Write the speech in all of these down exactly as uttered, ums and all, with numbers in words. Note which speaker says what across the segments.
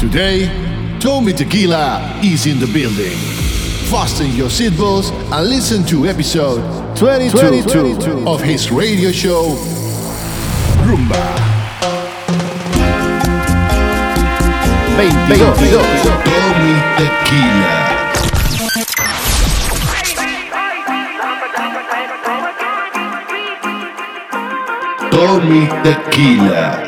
Speaker 1: Today, Tommy Tequila is in the building. Fasten your seatbelts and listen to episode twenty-two, twenty-two of his radio show, Rumba. veintidós. Tommy Tequila. Tommy Tequila.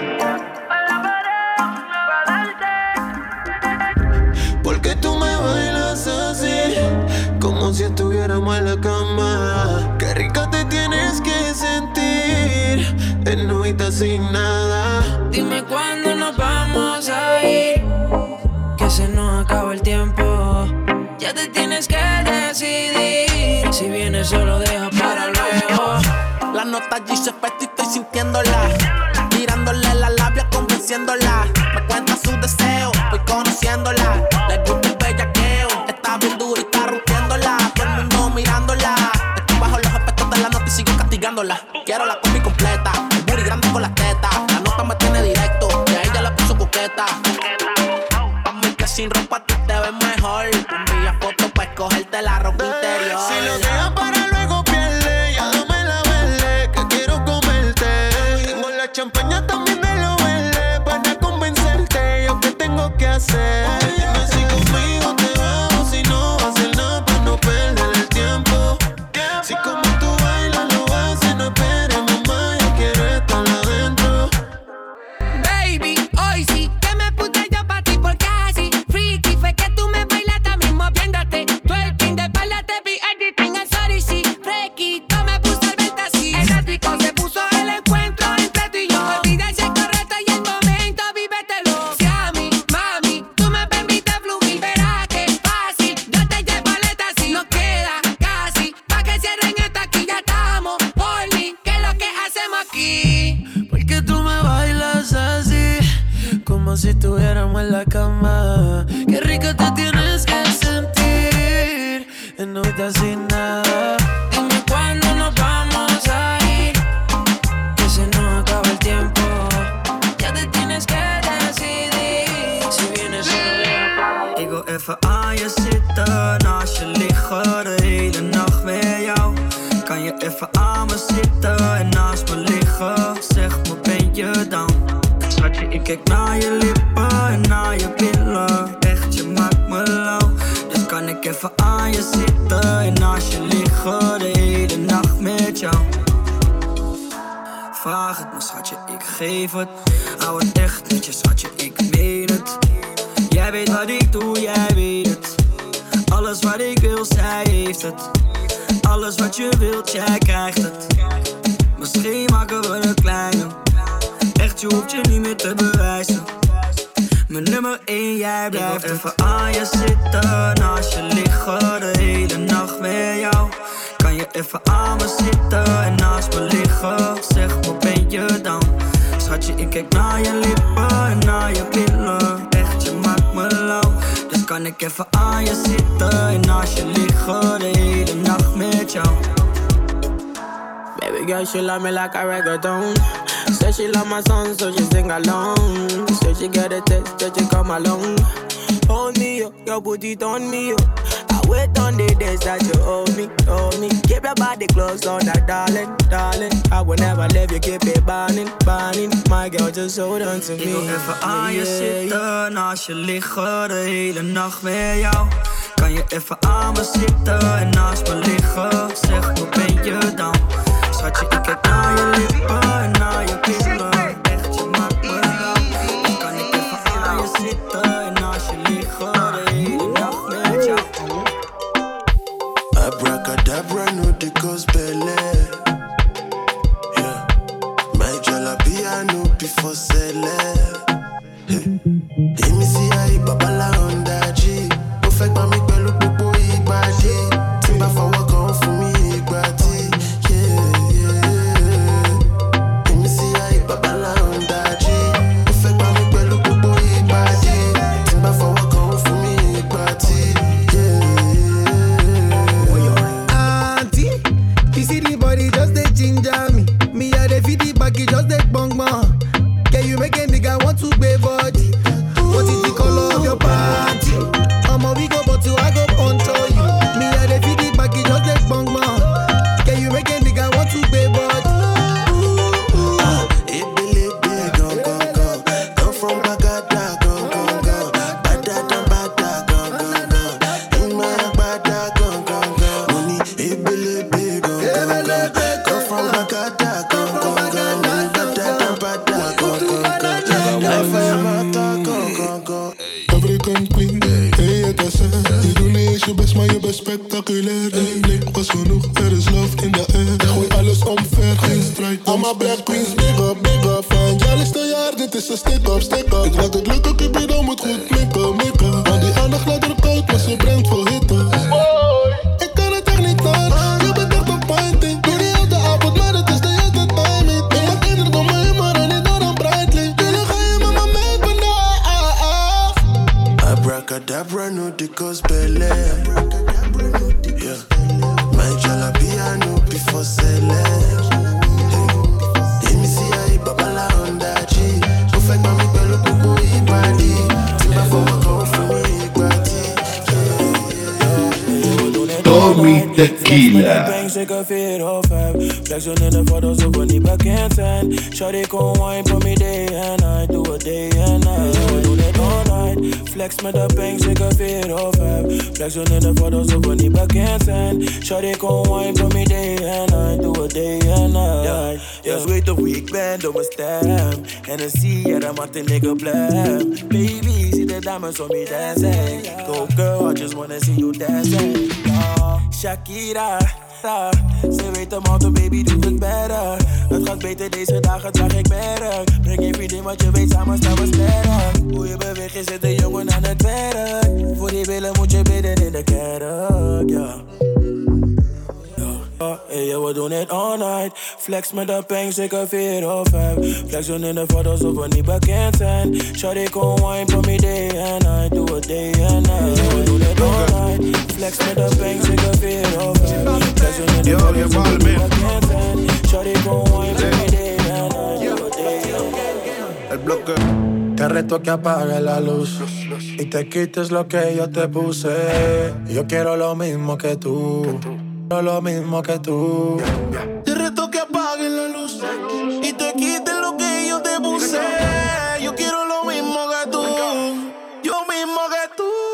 Speaker 2: Porque tú me bailas así, como si estuviéramos en la cama. Qué rica te tienes que sentir, en novita sin nada.
Speaker 3: Dime cuándo nos vamos a ir, que se nos acaba el tiempo. Ya te tienes que decidir, si vienes solo deja para luego.
Speaker 4: La nota allí se fue y estoy sintiéndola, tirándole la labia, convenciéndola. Me cuenta su deseo, voy conociéndola. Le gusta el bellaqueo, está bien dura y está rompiéndola. Todo el mundo mirándola, estoy bajo los efectos de la nota y sigo castigándola. Quiero la combi completa, el booty grande con las tetas. La nota me tiene directo, y a ella la puso coqueta. Pa' mí que sin ropa tú te ves mejor. Envía fotos pa' escogerte la ropa interior.
Speaker 2: Si lo dejas para luego pierde, ya dame la verde, que quiero comerte. Tengo la champaña también de lo verde, para convencerte. Yo qué tengo que hacer. Dime si conmigo te vas, si no vas a hacer nada para no perder el tiempo. Si como tú bailas lo haces, no esperes, mamá, yo quiero estar adentro.
Speaker 3: Baby, hoy sí que me puse yo pa' ti porque así freaky fue que tú me bailaste a mí moviéndote. Twerking de espalda te vi editing al sorry sí. Fresquito me puse al verte así. Eléctrico se puso el encuentro entre tú y yo. Olvida si es correcto y el momento vívetelo. Si a mí, mami, tú me permites fluir, verás que es fácil. Yo te llevo aleta así. No queda casi pa' que cierren esta aquí. Ya estamos horny, ¿qué es lo que hacemos aquí?
Speaker 2: Porque tú me bailas así, como si estuviéramos en la cama. Qué rico te tienes que sentir, en novita sin nada.
Speaker 3: Dime cuándo nos vamos a ir, que se nos acaba el tiempo. Ya te tienes que decidir, si vienes solo.
Speaker 5: Ik wil even aan je zitten, naast je liggen, de hele nacht met jou. Kan je even aan me zitten en naast me liggen? Zeg me, ben je down? Schatje, ik kijk naar je lippen en naar je billen. Echt, je maakt me lauw. Dus kan ik even aan je zitten en naast je liggen, de hele nacht met jou? Vraag het me, schatje, ik geef het. Hou het echt met je, schatje, ik meen het. Jij weet wat ik doe, jij weet het. Alles wat ik wil, zij heeft het. Alles wat je wilt, jij krijgt het. Misschien maken we een kleine. Echt, je hoeft je niet meer te bewijzen. Mijn nummer één, jij blijft. Ik wil even aan je zitten, naast je liggen, de hele nacht met jou. Kan je even aan me zitten en naast me liggen? Zeg me, ben je down? Schatje, ik kijk naar je lippen en naar je billen. Echt, je maakt me lauw. Dus kan ik even aan je zitten en naast je liggen, de hele nacht met jou?
Speaker 3: Baby girl, she love me like a reggaeton. Said she love my song, so she sing along. Said she get a text, that she come along. Hold me up, your booty turn me up. I wait on the days that you hold me, hold me. Keep your body close on that, darling, darling. I will never leave you, keep it burning, burning. My girl, just hold on to me.
Speaker 5: Ik wil even aan je zitten, naast je liggen, de hele nacht met jou. Kan je even aan me zitten en naast me liggen? Zeg me, ben je down? Schatje, ik kijk naar je lippen en naar je billen. Echt, je maakt me lauw. Dan kan ik even aan je zitten en naast je liggen, de hele nacht met jou.
Speaker 2: Abracadabra, no de gospel. Yeah, my jalapia no before sele. Emi si ai babala onda ji. Mo fẹ́ gbà mí pẹ̀lú gbogbo ìgbàdí. Tí n bá fọwọ́ kan fún mi ìgbàdí. Emi si ai babala onda ji. Mo fẹ́ gbà mí pẹ̀lú gbogbo ìgbàdí. Tí n bá fọwọ́ kan fún mi ìgbàdí.
Speaker 6: Auntie, you see the body just dey ginger me. Me I dey feel the back, it just dey bang bang. Can you make a nigga want to gbé body?
Speaker 7: spectaculair. Nee, nee, was genoeg, er is love in de air. Gooi alles omver, geen strijd. Allemaal black queens, big up, big up. Van jaarlijkste jaar, dit is een stick-up, stick-up. Ik laat het lukken, Cupido moet goed mikken, mikken. Want die aandacht laat er koud, maar ze brengt vol hitte. Ik kan het echt niet aan, je bent echt een pointing. Doe die hele avond, maar het is de juiste timing. Ik maak ieder door mijn humor en niet door een breitling. Jullie ga je met me mee vandaag.
Speaker 8: Abracadabra, no di cospele. Yeah. My jalapia no before sele. Demi si ai babala onda chi. Perfect mami pelo pupu ibadi. Timba for my go for ibadi.
Speaker 1: Tommy Tequila.
Speaker 9: Zeker vier of vijf. Flexen in de foto's of we niet bekend zijn. Shawty kon wine for me day and night. Doe het day and night. We doen het all night. Flex met de bank, zeker vier of vijf. Flexen in de foto's of we niet bekend zijn. Shawty kon wine for me day and night. Doe het day and night. Yeah, yeah. Weet of wie ik ben door mijn stem. En dan zie je dat maakt een nigga blem. Baby, zie de dames om me dancing. Go girl, I just wanna see you dancing. Yeah. Shakira. Ze weet hem al, baby doet het better. Het gaat beter deze dagen, draag ik merk. Breng je vriendin, want je weet samen staan we sterk. Hoe je beweegt, je zit een jongen aan het werk. Voor die billen moet je bidden in de kerk, ja. Hey, yeah, we doen het all night. Flex met de peng, zeker vier of vijf. Flexen in de foto's of we niet bekend zijn. Shawty kon wine for me day and night. Doe het day and night. We doen het all night. Flex met de peng, zeker vier of vijf. Flexen in de foto's of we niet bekend zijn. Shawty kon wine for me day and night. Doe het day and night.
Speaker 8: El bloque.
Speaker 9: Te reto que apague la luz y te quites lo que yo te puse. Yo quiero lo mismo que tú. Lo mismo que tú.
Speaker 8: Te reto que apagues la luz y te quites lo que yo te puse. Yo quiero lo mismo que tú. Yo mismo que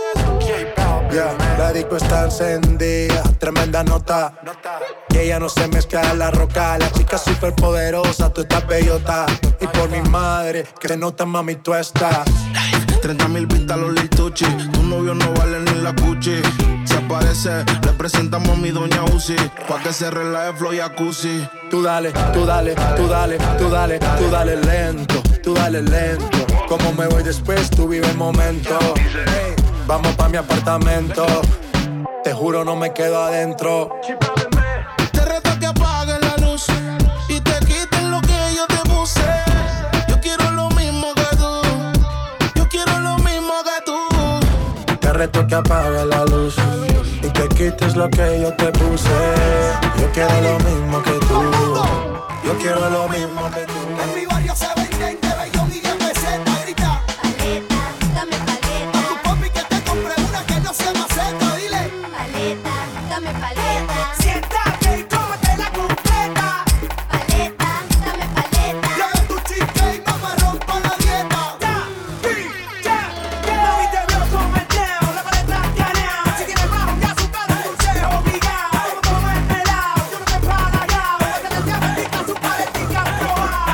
Speaker 8: tú.
Speaker 9: Yeah, la disco está encendida, tremenda nota. Y ella no se mezcla en la roca. La chica super poderosa, tú estás bellota. Y por mi madre, que se nota mami tú estás.
Speaker 8: treinta mil vistas los lituchi. Tu novio no vale ni la cuchi. Se aparece, le presentamos a mi doña Uzi. Pa' que se relaje flow y jacuzzi.
Speaker 9: Tú dale, tú dale, tú dale, tú dale, tú dale lento, tú dale lento. Como me voy después, tú vive el momento. Hey, vamos pa' mi apartamento. Te juro no me quedo adentro.
Speaker 8: Te reto que apagues la luz y te quites lo que yo te puse. Yo quiero lo mismo que tú. Yo quiero lo mismo que tú.
Speaker 9: Te reto que apagues la luz y te quites lo que yo te puse. Yo quiero lo mismo que tú. Yo quiero lo mismo que tú.
Speaker 10: En mi barrio se venden de Bellón y de peseta. Grita paleta, dame paleta. A tu papi que te compre una que no sea maceta. Dile paleta, dame paleta. Siéntate y cómetela completa. Paleta, dame paleta. Trae tu chica y mamá rompa la dieta. Ya, ya, ya. Mami te veo como el Neo, la paleta escaneado. Si tienes bajo ya su cara dulce obligado. Como toma el pelado, yo no te he palagado. La que te diablo su paletica probada.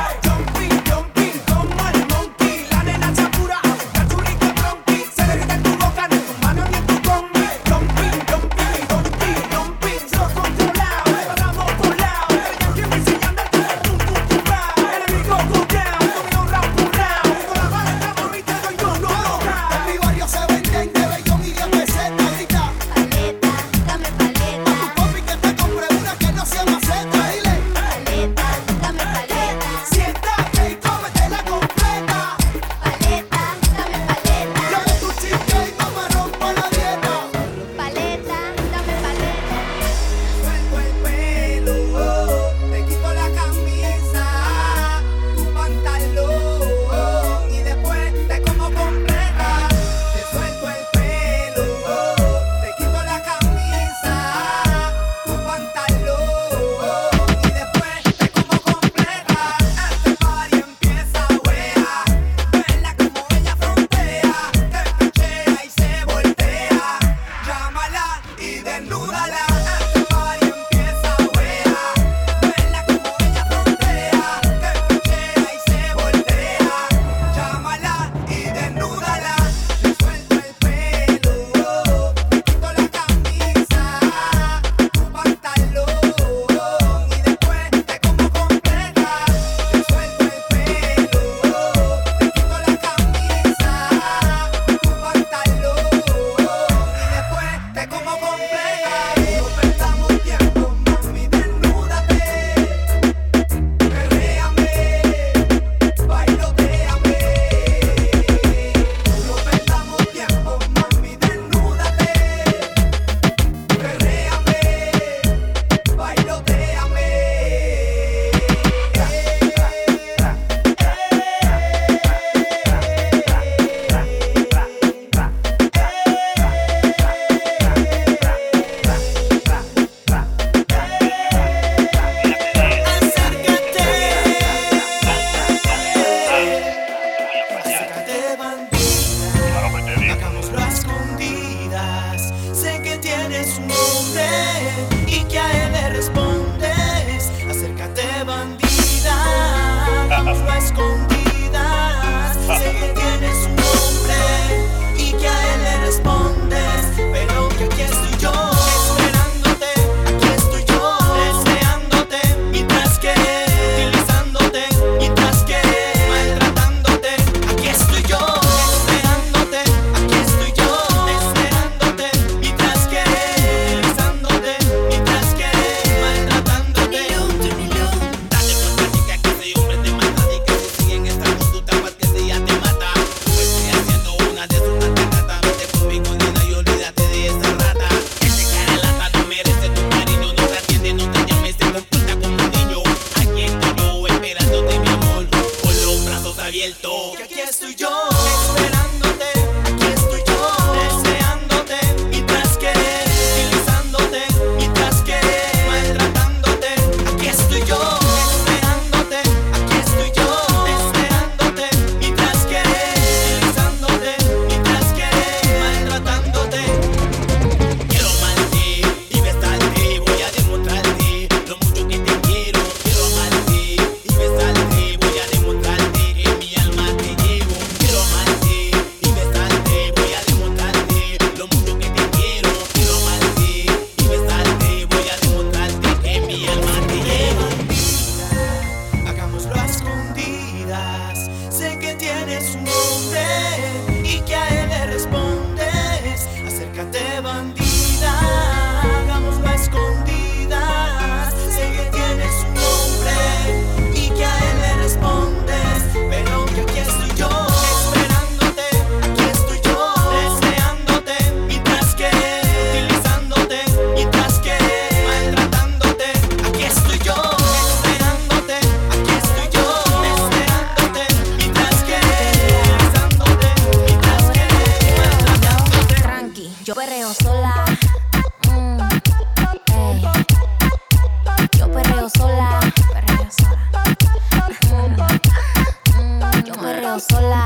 Speaker 5: yo. Esperándote, aquí estoy yo. Deseándote mientras querés. Utilizándote mientras querés. Maltratándote, aquí estoy yo. Esperándote, aquí estoy yo. Deseándote mientras querés. Utilizándote mientras querés. Maltratándote.
Speaker 11: Quiero amarte y besarte, voy a demostrarte lo mucho que te quiero. Quiero amarte y besarte, voy a demostrarte que mi alma te llevo. Quiero amarte y besarte, voy a demostrarte lo mucho que te quiero. Quiero amarte y besarte, voy a demostrarte que mi alma te llevo.
Speaker 5: Hagámoslo a escondidas. Sé que tienes un nombre y que a él le respondes. Acércate, bandida. Hagámoslo a escondidas. Sé que tienes un nombre y que a él le respondes. Pero que aquí estoy yo. Esperándote, aquí estoy yo. Deseándote mientras querés. Utilizándote mientras querés. Maltratándote, aquí estoy yo. Esperándote, aquí estoy yo. Deseándote mientras querés. Utilizándote mientras querés. Maltratándote.
Speaker 12: Tranqui, yo perreo sola. Mm, ey. Yo perreo sola, perreo sola. Mm, mm, yo perreo sola.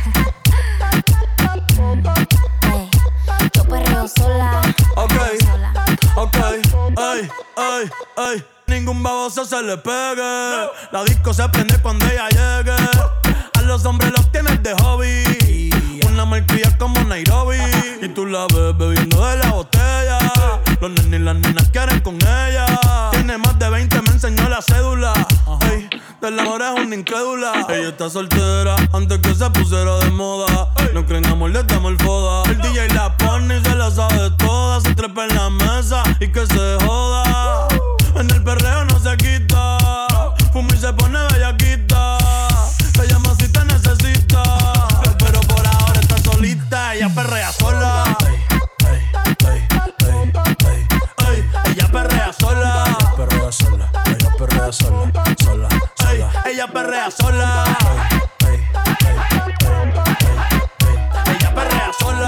Speaker 12: Mm, ey. Yo perreo sola.
Speaker 9: Ok,
Speaker 12: perreo sola.
Speaker 9: ok, ey, ey, ey. Ningún baboso se le pegue. La disco se prende cuando ella llegue. A los hombres los tienes de hobby. Una malcria como Nairobi. Y tú la ves bebiendo de la botella. Los nenes y las nenas quieren con ella. Tiene más de veinte, me enseñó la cédula. Ey, del amor es una incrédula. Ella está soltera antes que se pusiera de moda. No creen amor, le damos el foda. El D J la pone y se la sabe toda. Se trepa en la mesa y que se joda. En el perreo no se quita. Fuma y se pone bellaquita. Te llama si te necesita. Pero por ahora está solita. Ella perrea sola. Ey, ey, ey, ey, ey. Ella perrea sola. Ella perrea sola. Ella perrea sola. Sola, sola. Ella perrea sola. Ey, ey, ey, ey, ey. Ella perrea sola.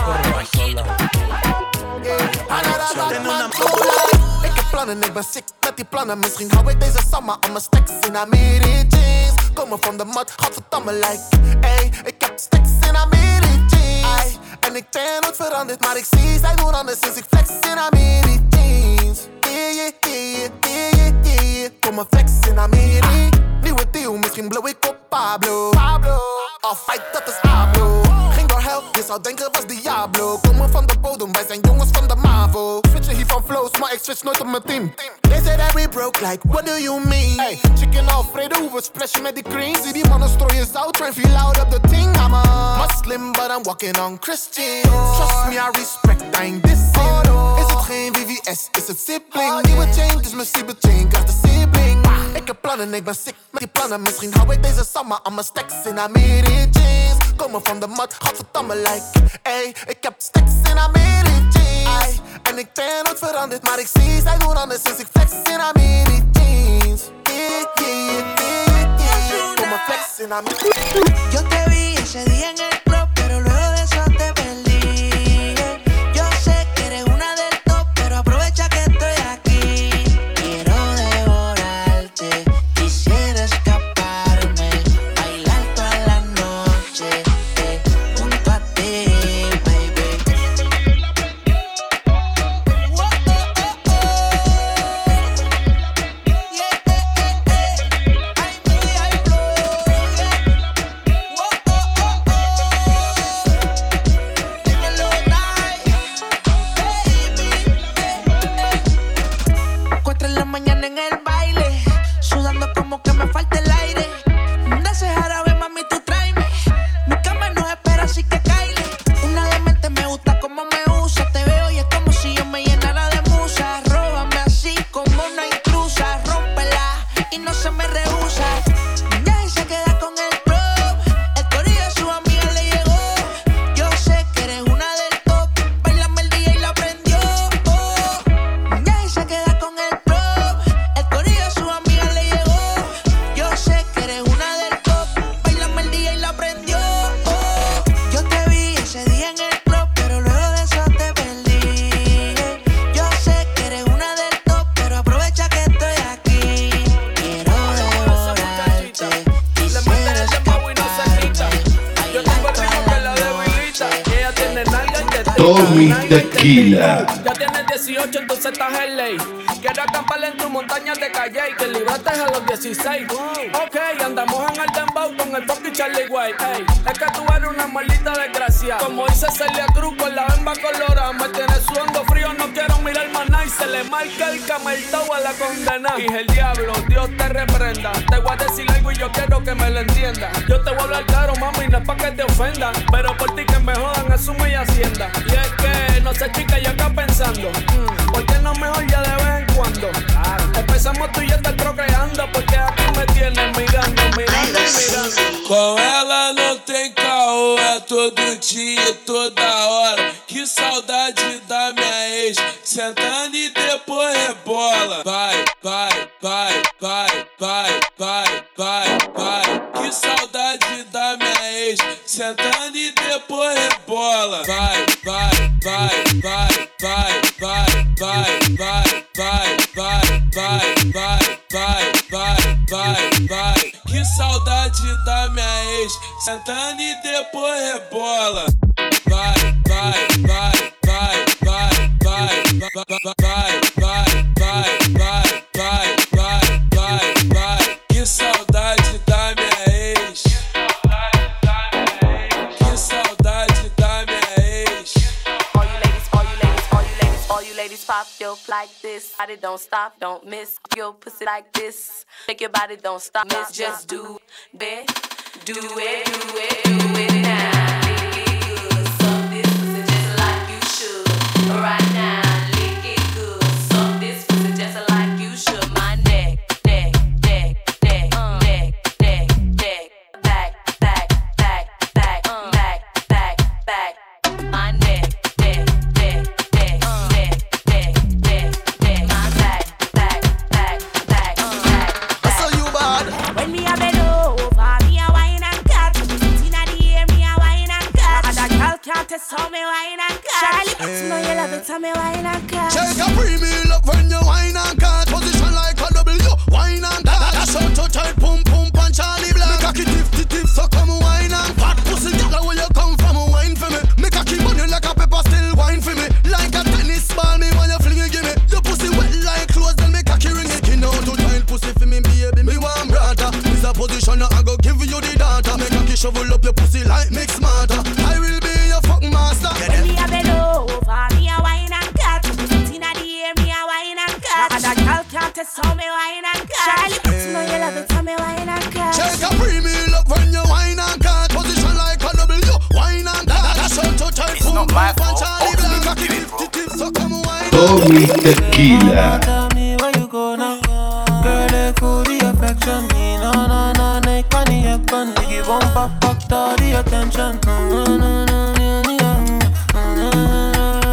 Speaker 9: Tiene una
Speaker 8: Ik heb plannen, ik ben sick met die plannen. Misschien hou ik deze summer aan mijn stacks in Amiri jeans. Komen van de mat, godverdamme like. Ey, ik heb stacks in Amiri jeans. Ay, en ik ben nooit veranderd, maar ik zie zij doen anders sinds ik flex in Amiri jeans. Yeah, yeah, yeah, yeah, yeah, yeah, yeah. Kom maar flex in Amiri. Nieuwe deal, misschien blow ik op Pablo. Pablo, al fight dat is Pablo. Ging door hell, je zou denken was Diablo. Komen van de bodem, wij zijn jongens van de MAVO. Switchen hier van flows, maar ik switch nooit op mijn team. They say that we broke, like, what do you mean? Hey, chicken Alfredo, hoe we splashen met die cream. Zie die mannen strooien zout, train feel out op the thing. I'm a Muslim, but I'm walking on Christian. Trust me, I respect, I ain't dissing. Is het geen V V S, is het sibling? Nieuwe chain, dus mijn sibling chain, krijgt de sibling. Ik heb plannen, ik ben sick met die plannen. Misschien hou ik deze summer aan mijn stacks in Amiri jeans. Komen van de mat, godverdamme like. Ey, ik heb stacks in Amiri jeans. Ay, en ik ben nooit veranderd, maar ik zie zij doen anders sinds ik flex in Amiri jeans. Yeah, yeah, yeah, yeah. Kom maar flex in Amiri.
Speaker 13: Yo te vi ese día en el club, pero luego de eso te perdí. Yo sé que eres una del top, pero aprovecha que estoy aquí. Quiero devorarte, quisiera escaparme, bailar toda la noche, eh, junto a ti, baby. Oh, oh, oh, oh. Yeah, eh, eh, eh. Ay, mi, ay, flow, yeah. Oh, oh, oh, oh.
Speaker 1: Tommy Tequila.
Speaker 14: Ya tienes dieciocho, entonces estás en ley. Quiero acampar en tu montaña de calle y que libraste a los dieciséis. Ok, andamos en el dembow con el fucking Charlie White. Ey, es que tú eres una maldita desgracia. Como dice Celia Cruz con la bemba colorada. Me tienes sudando frío, no quiero mirar más nada. Y se le marca el cameltao a la condena. Y el diablo, Dios te reprenda. Te voy a decir algo y yo quiero que me lo entienda. Yo te voy a hablar claro, mami, no es pa' que te ofenda. Pero por ti que me jodan, asume y hacienda. Y es que, no sé chica, yo acá pensando mm, ¿por qué no mejor ya de vez en cuando? Claro. Empezamos tú y yo estar procreando. Porque aquí me tienes mirando, mirando y mirando.
Speaker 9: Com ela não tem caô, é todo dia, toda hora. Que saudade da minha ex, sentando e depois rebola. Vai, vai, vai, vai, vai, vai, vai, vai. Que saudade da minha ex, sentando e depois rebola. Vai, vai, vai, vai, vai, vai, vai, vai, vai, vai, vai, vai, vai, vai, vai, vai. Que saudade da minha ex, sentando e depois rebola. Vai, vai, vai, vai, vai, vai, vai, vai, vai, vai, vai, vai, vai, vai, vai. Que saudade da minha ex. Que saudade da minha ex.
Speaker 15: All you ladies, all you ladies, all you ladies, all you ladies, pop your like this. Body don't stop, don't miss your pussy like this. Make your body don't stop, miss. Just do it, do it, do it, do it now. Lick it good, suck this pussy just like you should. Right now, lick it good, suck this pussy just like you should. My neck, neck, neck, neck, neck, neck, neck, back, back, back, back, back, back, back. My neck, neck, neck, neck, neck, neck, neck, neck. My back, back, back, back, back.
Speaker 8: I saw you bad.
Speaker 15: When me a bend over, me a wine and cut. Inna the air, me a wine and cut. And a girl can't test how me wine and cut. Charlie, you know you love it, how me wine and cut.
Speaker 8: Take a premium up when you wine and cut. Position like a W, wine and cut. That's how to tight, pum pum punch Charlie Black. Me cocky tip tip tip, so come wine and fat pussy. Girl, where you come from, wine for me. Me cocky money like a pepper, still wine for me. Like a tennis ball, me when you fling it, give me. Your pussy wet like clothes, then me cocky ring it. You know to tight pussy for me, baby. Me want brata. This a position, I go give you the data. Me cocky shovel up your pussy like mix smarter. I will be your fuck master.
Speaker 15: When me a bend over, me a wine and cut. Inna the air, me a wine and cut. And a girl can't test how me wine and cut. Charlie, you know you love it, how me wine and cut.
Speaker 8: Take a premium up when you wine and cut. Position like a W, wine and cut. That's how to tight, pum pum punch Charlie Black. Me cocky tip tip tip, so come wine.
Speaker 1: Tommy Tequila.
Speaker 9: Tell me where you go now. Girl, they cool the affection. Me no no no, they can't hear gun. They give one pop pop to the attention. No no no no no no.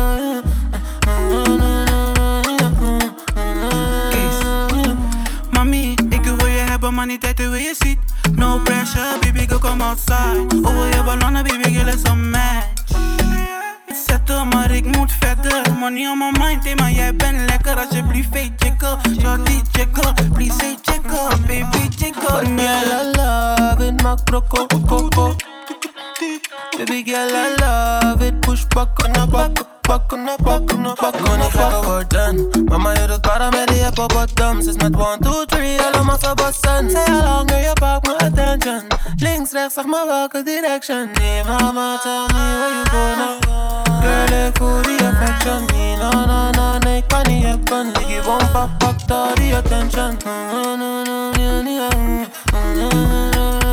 Speaker 9: Mami, ik wil je hebben, maar niet tijd hoe je ziet. No pressure, baby, go come outside. Over je ballonnen, baby, girl is een match. Zetten, maar ik moet verder. Money on my mind, hey, maar jij bent lekker. Alsjeblieft, hey, chicken. Shorty, chicken. Please, say chicken. Baby, chicken. Girl, I love it, maak brokko, koko. Baby, girl, I love it. Push back on the back. Back on the back on the back on the back worden. Mama, je doet karamellie op bottoms. Is met one, two, three, allemaal zo bossen. Say how long je pakt mijn attention. Links, rechts, zeg maar welke direction. Nee, mama, tell me where you go now. Girl, ik voel die affection. Nee, no, no, no, nee, ik kan niet hebben. Ik geef one pop, pop, to die attention. No, no, no, no, no, no, no.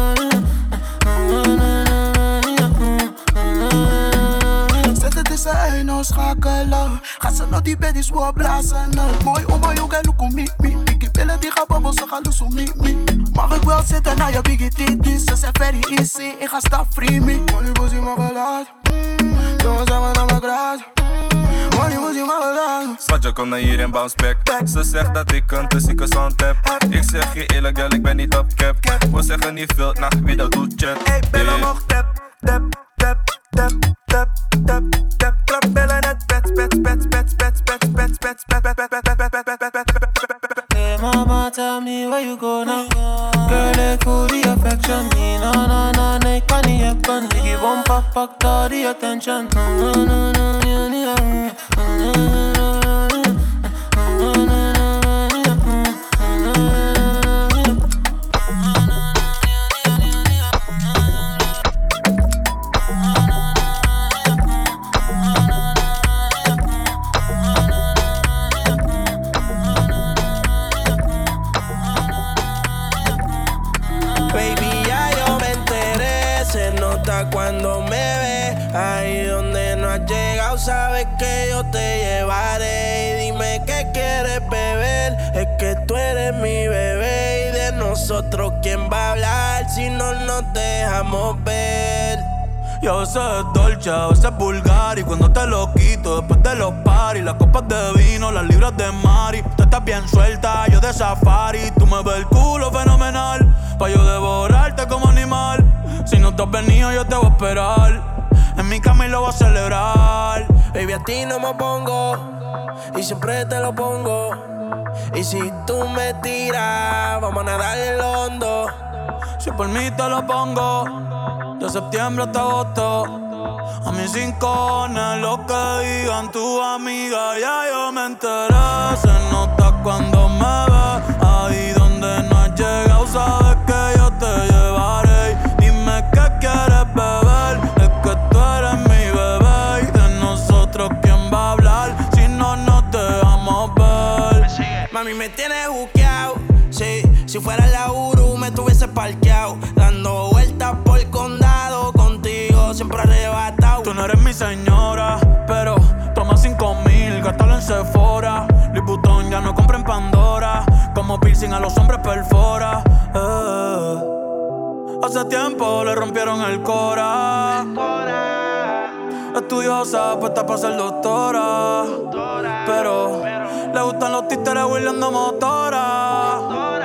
Speaker 8: Zij nou schakelen. Ga ze naar die beddies voor blazen. Mooi oma, yo, ga look me, me. Ik billen die gaan babbel, ze gaan loes me, me. Mag ik wel zitten naar je biggie titties? Ze zijn very easy, ik ga stap free me. Money pussy mag gelaat. Jongens zijn we naar mijn graad. Money pussy mag gelaat.
Speaker 16: Schatje, kom naar hier en bounce back. Ze zegt dat ik een te zieke sound heb. Ik zeg je eerlijk, girl, ik ben niet op cap. We zeggen niet veel, nah, wie dat doet, chat.
Speaker 8: Hey, billen nog tap, tap, tap, tap, tap, tap, tap. Klap billen net pets, pets, pets, pets, pets, pets, pets, pets, pets, pets, pets, pets, pets, pets, pets.
Speaker 9: Hey mama, tell me where you go now. Girl, ik voel die affection. Nee, no, no, no, nee, ik kan niet hebben. Ik geef one pop, pak to die attention. No, no, no, no,
Speaker 8: Cuando me ves ahí donde no has llegado, sabes que yo te llevaré. Y dime qué quieres beber, es que tú eres mi bebé. Y de nosotros quién va a hablar si no nos dejamos ver.
Speaker 9: Y a veces es dolce, a veces es vulgar. Y cuando te lo quito, después de los paris, las copas de vino, las libras de Mari. Tú estás bien suelta, yo de safari. Tú me ves el culo fenomenal, pa' yo devorarte como animal. Si no te has venido, yo te voy a esperar. En mi cama y lo voy a celebrar.
Speaker 8: Baby, a ti no me pongo, y siempre te lo pongo. Y si tú me tiras, vamos a nadar en el hondo.
Speaker 9: Si por mí te lo pongo, de septiembre hasta agosto. A mis rincones, lo que digan tu amiga, ya yo me enteré. Se nota cuando me ves, ahí donde no has llegado, sabes que yo te llevaré. Dime qué quieres beber, es que tú eres mi bebé. Y de nosotros quién va a hablar, si no nos dejamos ver.
Speaker 8: Mami, me tienes juqueado, sí. Si fuera la Uru me tuviese parqueado, dando vueltas por el condado, contigo siempre arrebatado.
Speaker 9: Tú no eres mi señora, pero toma cinco mil, gástalo en Sephora. Louis Vuitton ya no compra en Pandora, como piercing a los hombres perfora. eh. Hace tiempo le rompieron el cora. Estudiosa, puesta para ser doctora, pero le gustan los títeres huirleando motora.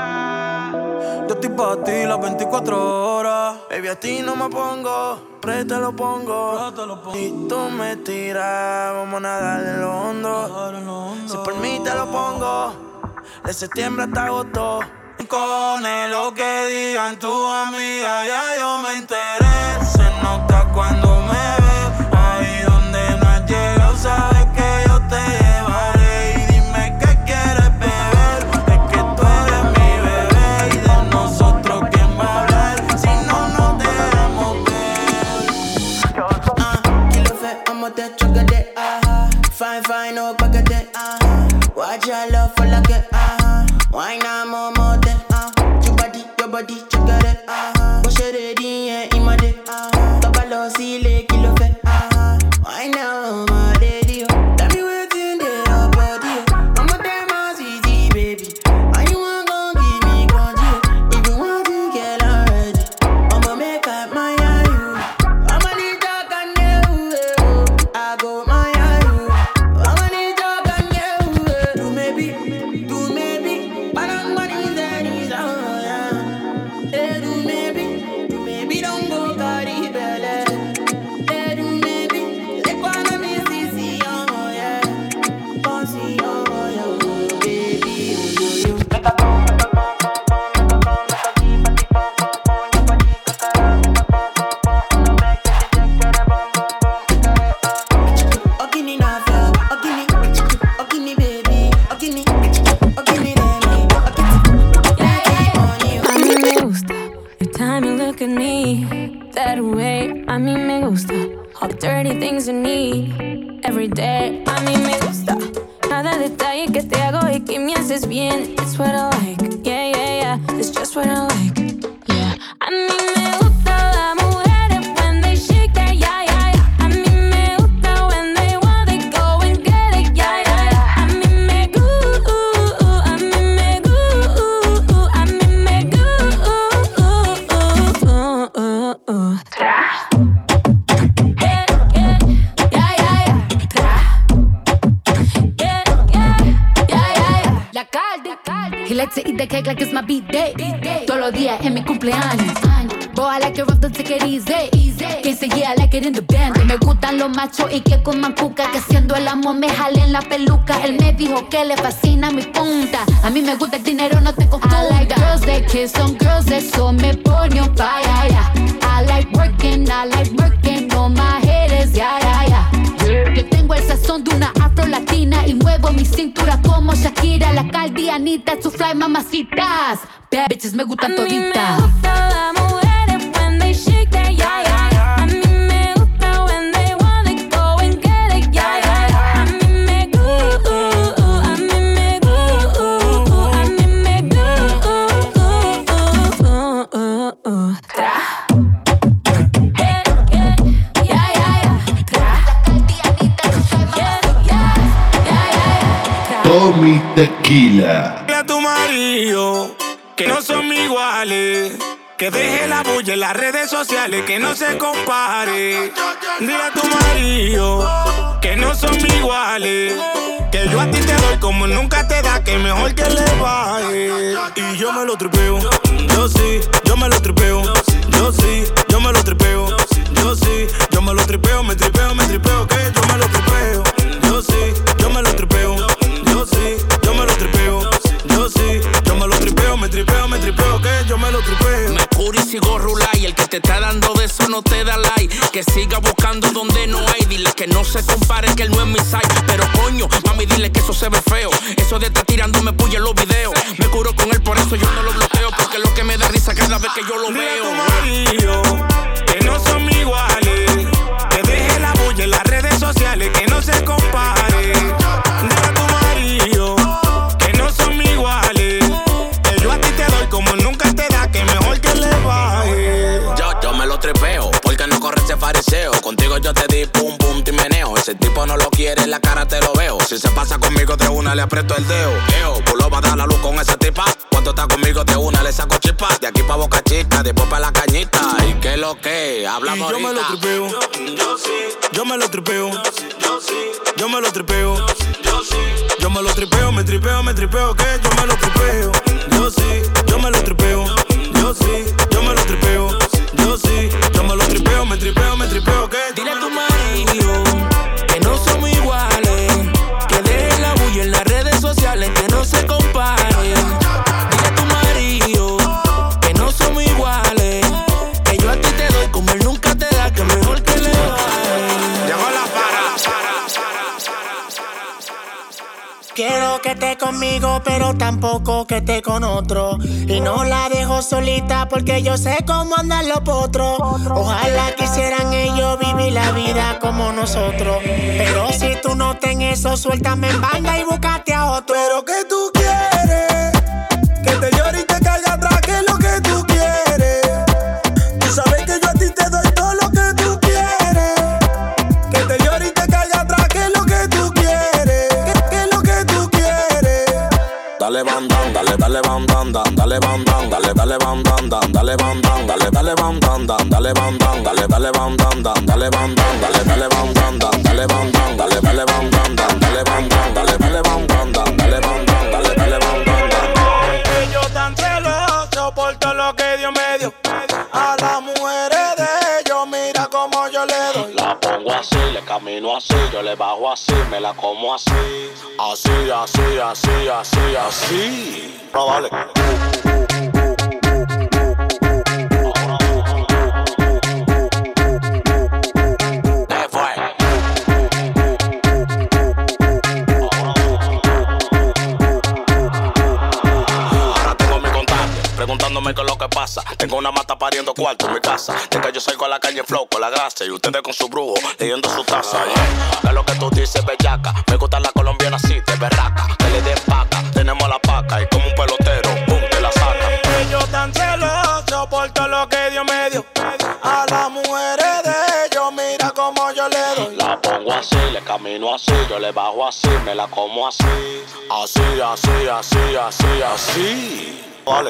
Speaker 9: Yo estoy pa' ti las veinticuatro horas.
Speaker 8: Baby, a ti no me pongo, pero te lo pongo. Y tú me tiras, vamos a nadar en lo hondo. Si por mí te lo pongo, de septiembre hasta agosto.
Speaker 9: Con lo que digan tu amiga, ya yo me enteré. Se nota cuando me ves, ahí donde no has llegado, sabes que yo te llevaré. Y dime qué quieres beber, es que tú eres mi bebé. Y de nosotros quién va a hablar, si no nos dejamos ver.
Speaker 5: uh, Kilo fait, I'm out there, trigger it, uh-huh. Fine, fine, no bucket it, uh-huh. Watch your love for like it, uh-huh. Why not more, more than, uh Your body, your body, trigger it, uh-huh. Push it in, yeah, in my day, uh-huh. Tabalo, see, le, kilo fait, uh-huh. Why now, my lady, oh. Tell me what's in there, your body, oh. I'm a damn ass easy, baby. Why you want gon' give me control? If you want to get already, I'ma make up my eye, you. I'ma need talk and you, I go my eye, you. I'ma need talk and you, do maybe, do maybe. But I'm money that is on, yeah. Hey, do maybe, do maybe don't go carry belly. Hey, do maybe, they wanna be C C, oh yeah. Bossy, oh yeah, baby, oh you. Ogini na feel, ogini, ogini baby, ogini, ogini baby,
Speaker 12: A mí me gusta every time you look at me that way. A mí me gusta all the dirty things you need every day. A mí me gusta cada detalle que te hago y que me haces bien. It's what I like, yeah, yeah, yeah. It's just what I like, yeah. A mí me gusta las mujeres when they shake that, yeah, yeah, yeah. A mí me gusta when they want, they go and get it, yeah, yeah, yeah. A mí me gusta, a mí me gusta, a mí me gusta. Tra. Yeah, yeah, yeah, yeah, yeah. Tra. Yeah, yeah, yeah, yeah, yeah.
Speaker 17: La Cardi. He likes to eat the cake like it's my B-day. Todos los días en mi cumpleaños. Boy, I like it rough, don't take it easy. Que say yeah, I like it in the band. Me gustan los machos y que coman cuca. Que siendo el amor me jalen la peluca. Él me dijo que le fascina mi punta. A mí me gusta el dinero, no te confunda. I like girls that kiss on girls, eso me pone on fire, yeah. I like working, I like working on my haters, yeah, yeah, yeah. Yo tengo el sazón como Shakira, la Caldi, Anita, su fly, mamacitas. Bad bitches me gustan toditas.
Speaker 1: Tommy Tequila.
Speaker 8: Dile a tu marido que no son iguales, que deje la bulla en las redes sociales, que no se compare. Dile a tu marido que no son iguales, que yo a ti te doy como nunca te da, que mejor que le baje. Y yo me lo tripeo, yo sí, yo me lo tripeo, yo sí, yo me lo tripeo, yo sí, yo me lo tripeo, me tripeo, me tripeo, que yo me lo tripeo, yo sí, yo me lo tripeo, yo sí, yo me lo tripeo, yo sí, yo me lo tripeo, me tripeo, me tripeo, que yo me lo tripeo.
Speaker 4: Me curo y sigo rula y el que te está dando de eso no te da like. Que siga buscando donde no hay, dile que no se compare, que él no es mi site. Pero coño, mami, dile que eso se ve feo. Eso de estar tirándome puya en los videos. Me curo con él, por eso yo no lo bloqueo, porque lo que me da risa cada vez que yo lo
Speaker 8: Dile
Speaker 4: veo.
Speaker 8: a tu marido que no son iguales, que deje la bulla en las redes sociales, que no se compare. Dile a tu marido que no son iguales, que yo a ti te doy como nunca te da, que mejor que le baje.
Speaker 4: Yo, yo me lo tripeo, porque no corre ese fariseo. Contigo yo te di pum pum ti meneo. Ese tipo no lo quiere, en la cara te lo veo. Si se pasa conmigo de una le aprieto el dedo. Eo, pulo va a dar la luz con esa tipa. Cuando está conmigo de una le saco chispa. De aquí pa' Boca Chica, después pa' la cañita. ¿Y qué lo que? Hablamos
Speaker 8: Y yo
Speaker 4: ahorita.
Speaker 8: me lo tripeo, yo sí, yo me lo tripeo, yo sí, yo me lo tripeo, yo sí, yo me lo tripeo, me tripeo, me tripeo, que yo me lo tripeo, yo sí, yo me lo tripeo, yo sí, yo me lo tripeo, yo sí, yo me lo tripeo, me tripeo, me tripeo, que yo
Speaker 4: Dile a tu marido que no somos iguales, que deje la bulla en las redes sociales, que no se compare. Dile a tu marido que no somos iguales, que yo a ti te doy como él nunca te da, que mejor que le baje.
Speaker 8: llegó la para.
Speaker 18: Quiero que esté conmigo, pero tampoco que esté con otro. Y no la dejo solita porque yo sé cómo andan los potros. Ojalá quisieran ellos vivir la vida como nosotros. Pero si tú no ten eso, suéltame en banda y búscate a otro.
Speaker 8: Pero que tú quieres, que te llore y te caiga atrás, que es lo que tú quieres. Tú sabes que yo a ti te doy todo lo que tú quieres. Que te llore y te caiga atrás, que es lo que tú quieres. Que, que es lo que tú quieres.
Speaker 4: Dale bam bam, dale dale bam bam bam, dale bam bam, dale dale bam bam bam, dale bam bam, dale dale bam bam bam, dale bam bam, dale dale bam bam bam, dale bam bam, dale dale bam bam bam, dale bam bam, dale dale bam bam bam, dale bam bam, dale dale bam bam bam, dale bam bam, dale dale bam bam bam.
Speaker 8: Yo tan celoso por todo lo que Dios me dio. A las mujeres de ellos, mira como yo le doy.
Speaker 4: La pongo así, le camino así, yo le bajo así, me la como así. Así, así, así, así, así. No vale. ¿Qué fue? Ahora tengo mi contacto, preguntándome qué es lo que pasa. Tengo una mata pariendo cuarto en mi casa. De que yo salgo a la calle flow con la grasa y ustedes con su brujo leyendo su taza. Yeah. ¿Qué es lo que tú dices, bellaca? Me gusta la colombiana así, de berraca. Que le den paca, tenemos la paca y como un pelotero, pum, te la saca.
Speaker 8: Yo tan celoso por todo lo que Dios me dio. A las mujeres de ellos, mira como yo le doy.
Speaker 4: La pongo así, le camino así, yo le bajo así, me la como así. Así, así, así, así, así. Vale.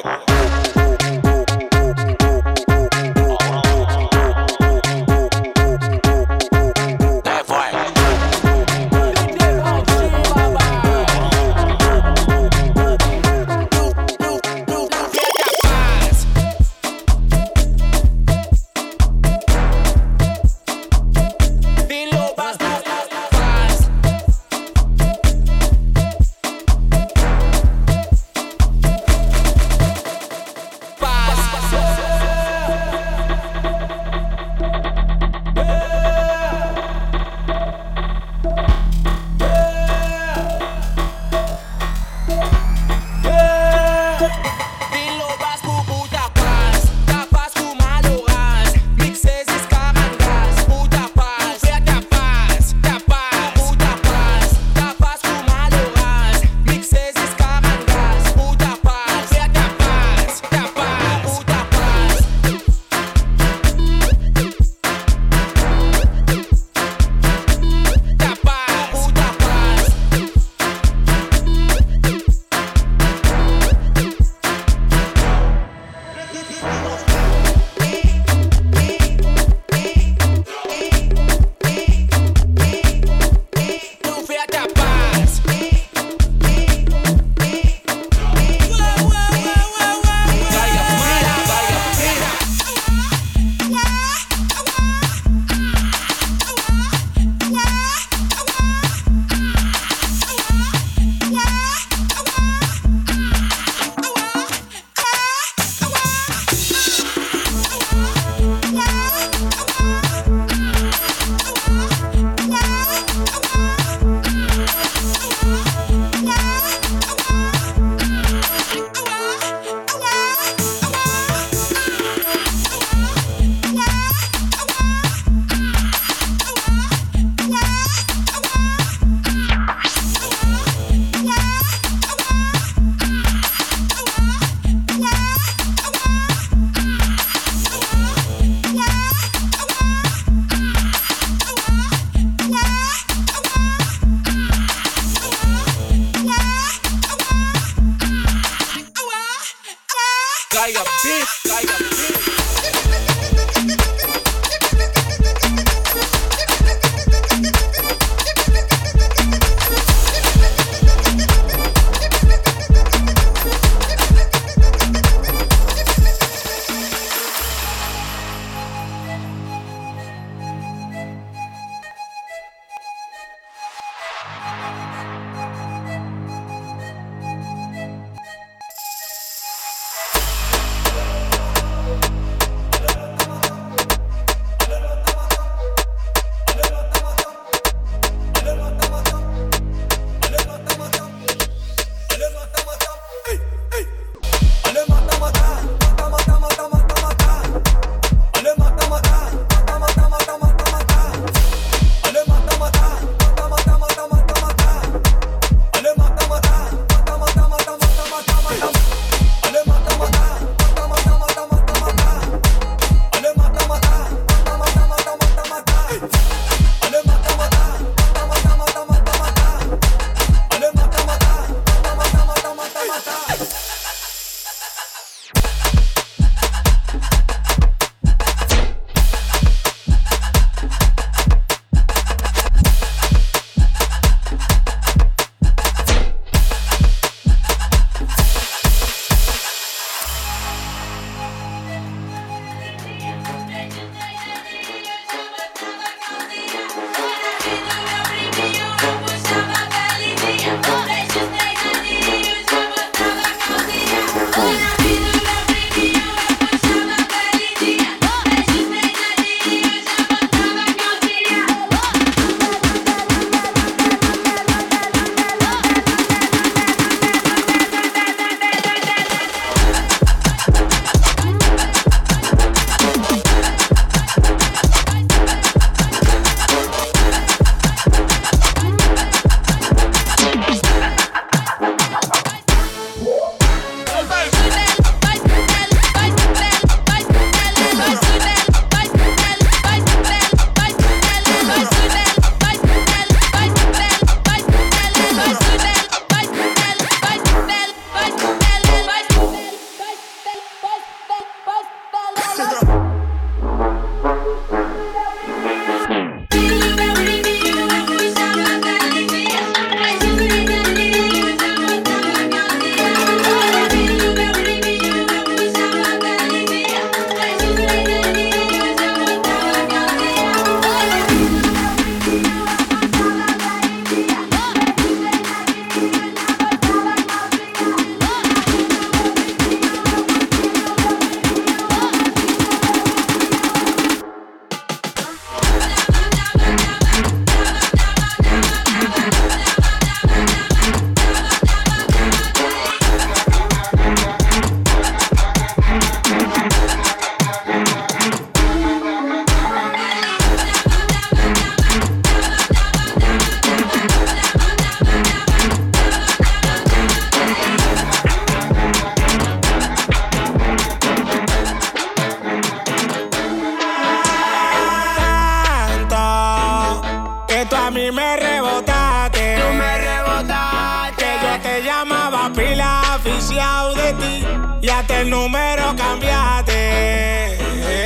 Speaker 18: ti y hasta el número cambiaste.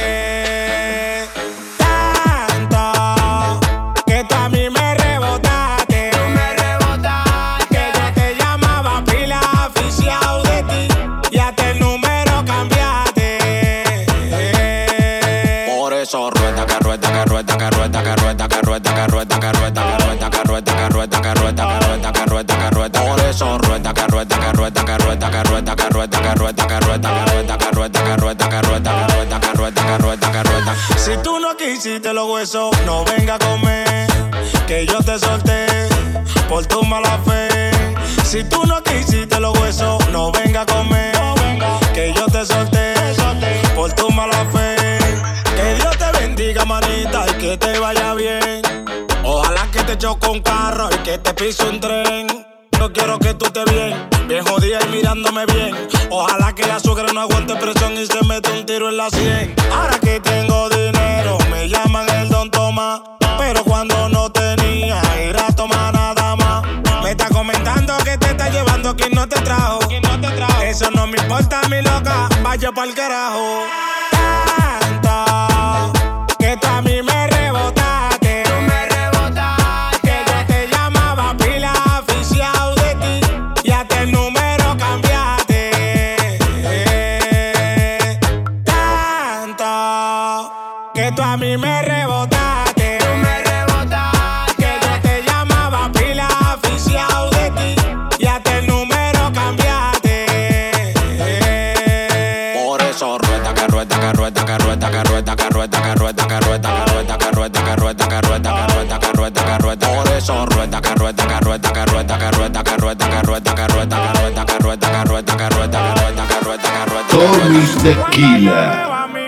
Speaker 18: Tanto que tú a mí me rebotaste. Tú me rebotaste. Que yo te llamaba pila aficiado de ti y hasta el número cambiaste.
Speaker 19: Por eso rueda, que rueda, que rueda, que rueda, que rueda, que rueda, que rueda, que rueda, que rueda, que rueda, que rueda, que rueda, que rueda, que rueda, que rueda. Por eso rueda, que rueda, que rueda, que rueda, que rueda, que rueda, que rueda, que rueda, que rueda, que rueda, que rueda, que rueda, que rueda, que rueda, que rueda, que rueda.
Speaker 18: Si tú no quisiste los huesos, no venga a comer, que yo te solté por tu mala fe. Si tú no quisiste los huesos, no venga a comer, que yo te solté por tu mala fe. Que Dios te bendiga, manita, y que te vaya bien. Ojalá que te choque un carro y que te pise un tren. Yo quiero que tú estés bien, bien jodida y mirándome bien. Ojalá que la suegra no aguante presión y se mete un tiro en la sien. Ahora que tengo dinero, me llaman el Don Tomás. Pero cuando no tenía, era a tomar nada más. Me está comentando que te está llevando quien no te trajo. Eso no me importa, mi loca, vaya pa'l carajo. Tanto que tú a mí me rebotaste. Tú me rebotaste. Que yo te llamaba pila aficiado de ti y hasta el número cambiaste. Tanto que tú a mí me rebotaste. Tú me rebotaste. Que yo te llamaba pila aficiado de ti y hasta el número cambiaste.
Speaker 19: Por eso rueda, que rueda, que rueda, que rueda, que rueda, que rueda, que rueda, que rueda, que rueda, que rueda, que rueda, que rueda, que rueda, que rueda, que rueda. Por eso rueda, que rueda, que rueda, que rueda, que rueda, que rueda, que rueda, que rueda, que rueda, que rueda, que rueda, que rueda, que rueda, que rueda, que rueda.
Speaker 1: Tommy Tequila.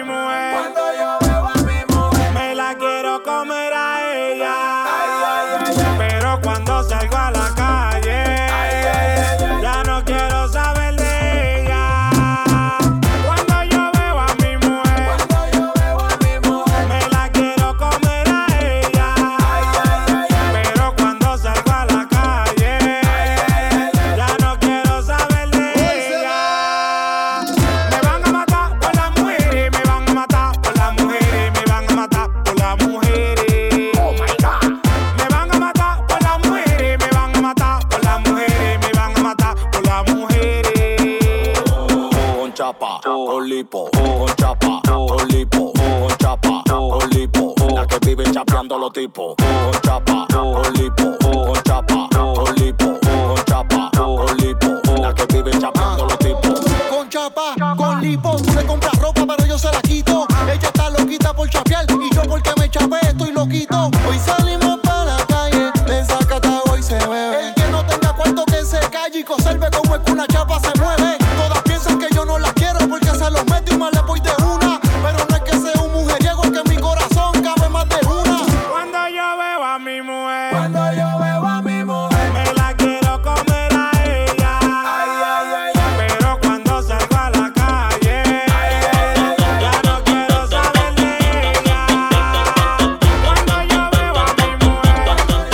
Speaker 18: Me la quiero comer a ella, pero cuando salgo a la calle ya no quiero saber de ella. Cuando yo veo a mi mujer, me la quiero comer a ella, pero cuando salgo a la calle ya no quiero saber de ella. Me van a matar por las mujeres, me van a matar por las mujeres, me van a matar por las mujeres. Oh my God. Me van a matar por las mujeres, me van a matar por las mujeres, me van a matar por las mujeres.
Speaker 19: Con chapa, con lipo, con chapa, con lipo, con chapa, con lipo. La que vive chapeando los tipos. Con chapa, con lipo, con chapa, con lipo, con chapa, con lipo. La que vive chapeando los tipos.
Speaker 20: Con chapa, con lipo, tú le compras ropa pero yo se la quito. Ella está loquita por chapear y yo porque me chapé estoy loquito. Hoy salimos para la calle, en Zacatau hoy se bebe. El que no tenga cuarto que se calle y conserve como es que una chapa se mueve. Todas piensan que yo no la quiero porque se los meto y más le voy de una. Pero no es que sea un mujeriego, es que en mi corazón cabe más de una.
Speaker 18: Cuando yo veo a mi mujer, cuando yo veo a mi mujer, me la quiero comer a ella. Pero cuando salgo a la calle ya no quiero saber de ella. Cuando yo veo a mi mujer,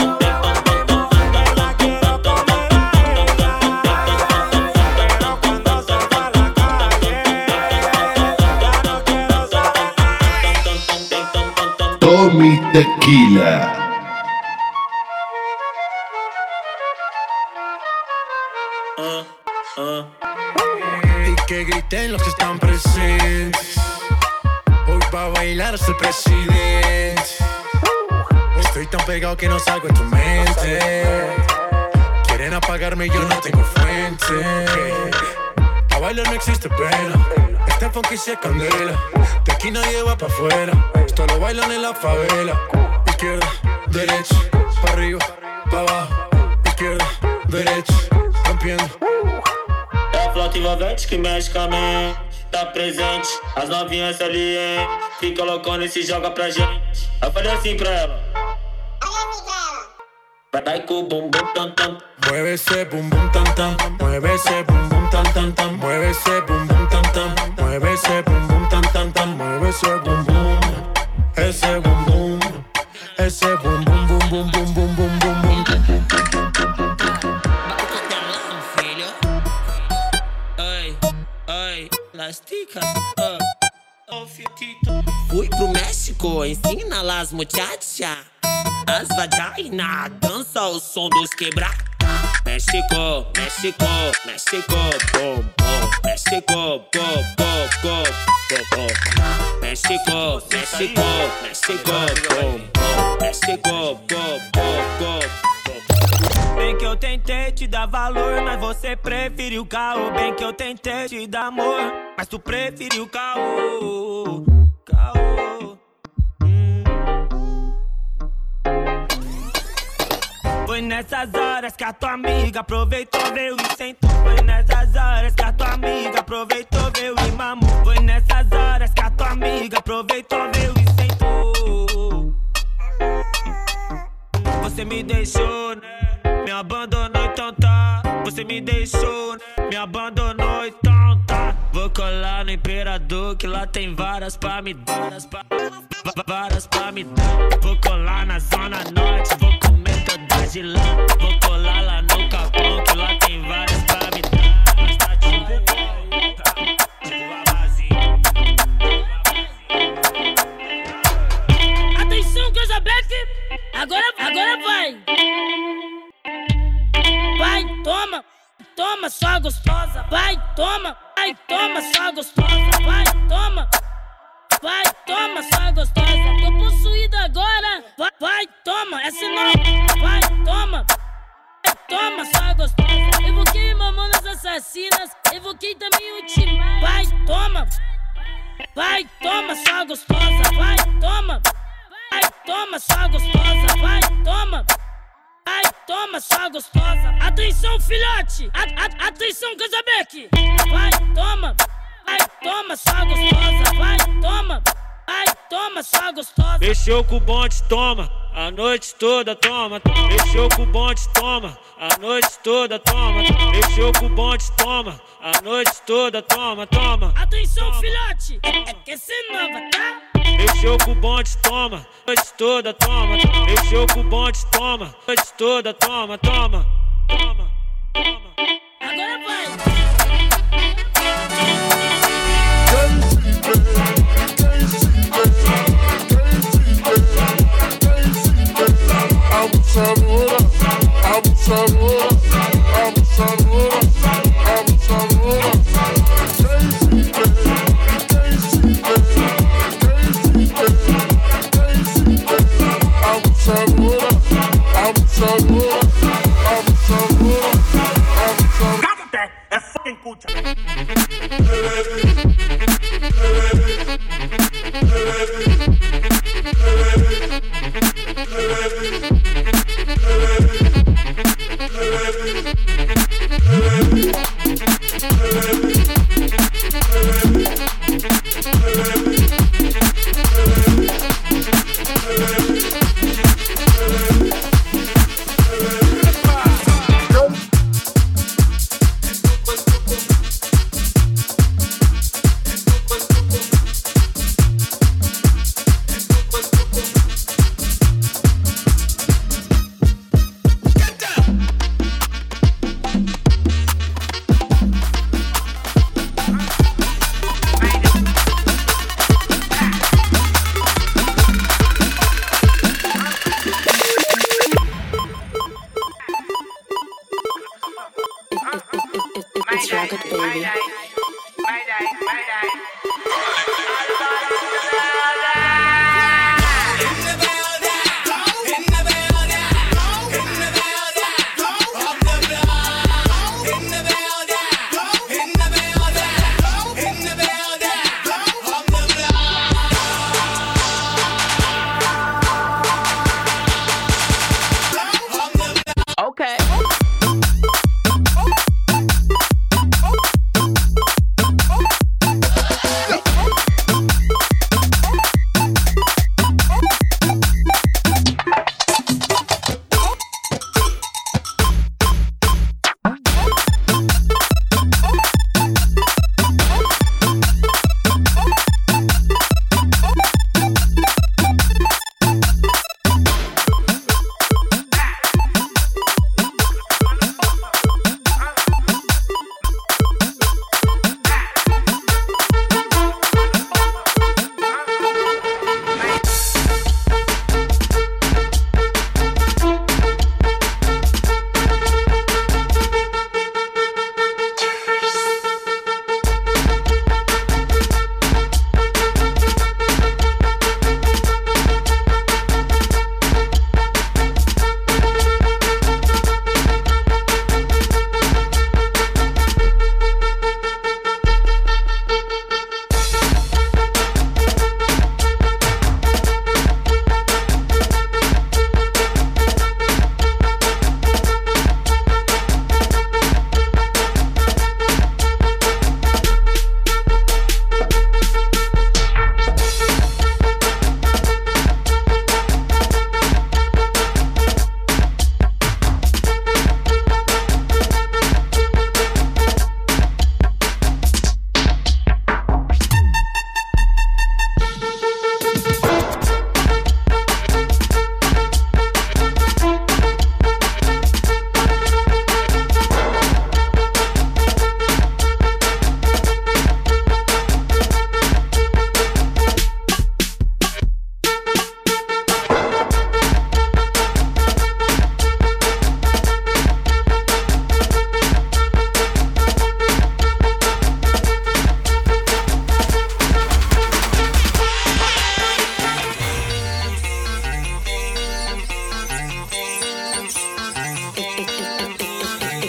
Speaker 18: me la quiero comer a ella. Pero cuando salgo a la calle ya no quiero saber.
Speaker 1: Tommy Tequila.
Speaker 21: Y que griten los que están presentes. Hoy pa' bailar es el presidente. Estoy tan pegado que no salgo en tu mente. Quieren apagarme y yo no tengo fuente. A bailar no existe pena. Este funky se candela. De aquí nadie va pa' afuera. Esto lo bailan en la favela. Izquierda, derecha, pa' arriba, pa' abajo. Izquierda, derecha, rompiendo.
Speaker 22: É a flauta envolvente que mexe com a mente. Tá presente, as novinhas ali, hein? Fica loucona e se joga pra gente. Eu falei assim pra ela. Vai com o bum bum tam tam.
Speaker 21: Mueve ese bum bum tam tam. Mueve ese bum bum tam tam tam. Mueve ese bum bum tam tam. Mueve ese bum bum tam tam tam. Mueve ese bum bum. Ese bum bum. Ese bum bum bum bum bum bum bum bum bum.
Speaker 23: Filho, oi,
Speaker 2: México, ensina las muchachas. As vagina, dança o som dos quebra. México, México, México, bom, bom. México, bom, bom, bom, bom. México, México, México, bom, bom. México, bom, bom, bom.
Speaker 3: Bem que eu tentei te dar valor, mas você preferiu caô. Bem que eu tentei te dar amor, mas tu preferiu caô. Caô. Hum. Foi nessas horas que a tua amiga aproveitou, veio e sentou. Foi nessas horas que a tua amiga aproveitou, veio e mamou. Foi nessas horas que a tua amiga aproveitou, veio e sentou. Você me deixou, né? Me abandonou, então tá. Você me deixou, né? Me abandonou, então tá. Vou colar no Imperador, que lá tem várias pra me dar. Várias pra, várias pra me dar. Vou colar na Zona Norte, vou comer todas de lá. Vou colar lá no Capão, que lá tem várias pra me dar. Mas tá tipo, tipo lavazinho.
Speaker 23: Atenção, Casabeck! Agora, agora vai! Vai, toma, toma, só gostosa. Vai, toma, vai, toma, só gostosa. Vai, toma, vai, toma, só gostosa. Tô possuída agora. Vai, vai, toma, essa é nova. Vai, toma, vai, toma, só gostosa. Evoquei mamonas assassinas, evoquei também o Timar. Vai, toma, vai, toma, só gostosa. Vai, toma, vai, toma, só gostosa. Vai, toma. Vai, toma, só gostosa. Atenção, filhote. A, a, atenção, Casabeck. Vai, toma. Vai, toma, só gostosa. Vai, toma. Vai, toma, só gostosa.
Speaker 3: Mexeu com o bonde, toma. A noite toda, toma. Mexeu com o bonde, toma. A noite toda, toma. Mexeu com o bonde, toma. A noite toda, toma, toma.
Speaker 23: Atenção, filhote. É, é que essa é nova, tá?
Speaker 3: Mexeu com o bonde, toma. Noite toda, toma. Mexeu com o bonde, toma. Noite toda, toma, toma. Toma, toma.
Speaker 23: Agora vai.
Speaker 7: Abusadora, abusadora, abusadora, abusadora. Abusadora, abusadora, abusadora, abusadora.
Speaker 3: Cállate, é fucking puta.